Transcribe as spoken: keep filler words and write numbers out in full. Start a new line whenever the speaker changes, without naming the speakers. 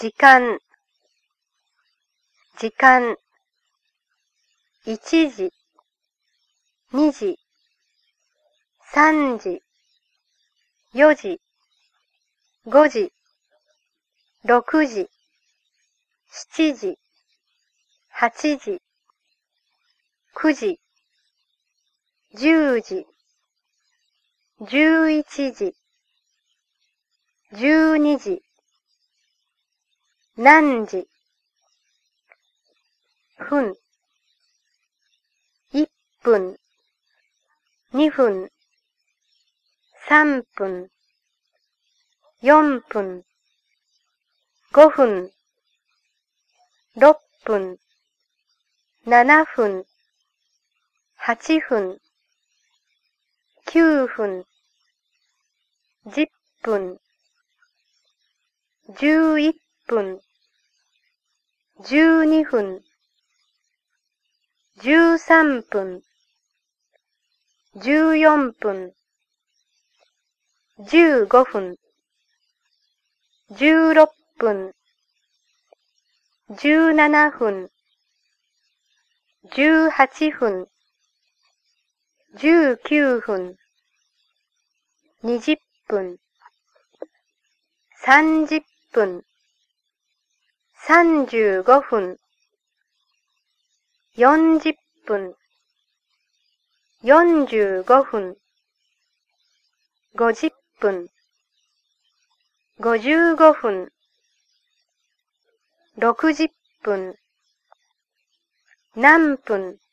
時間、時間、いちじ、にじ、さんじ、よじ、ごじ、ろくじ、しちじ、はちじ、くじ、じゅうじ、じゅういちじ、じゅうにじ、何時、分、いっぷん、にふん、さんぷん、よんぷん、ごふん、ろっぷん、ななふん、はちふん、きゅうふん、じゅっぷん、じゅういっぷん、じゅうにふん、じゅうさんぷん、じゅうよんぷん、じゅうごふん、じゅうろっぷん、じゅうななふん、じゅうはちふん、じゅうきゅうふん、にじゅっぷん、さんじゅっぷん、さんじゅうごふん、よんじゅっぷん、よんじゅうごふん、ごじゅっぷん、ごじゅうごふん、ろくじゅっぷん、何分、